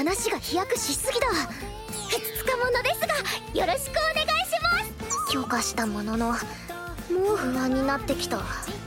話が飛躍しすぎだ。2日ものですがよろしくお願いします。許可したもののもう不安になってきた。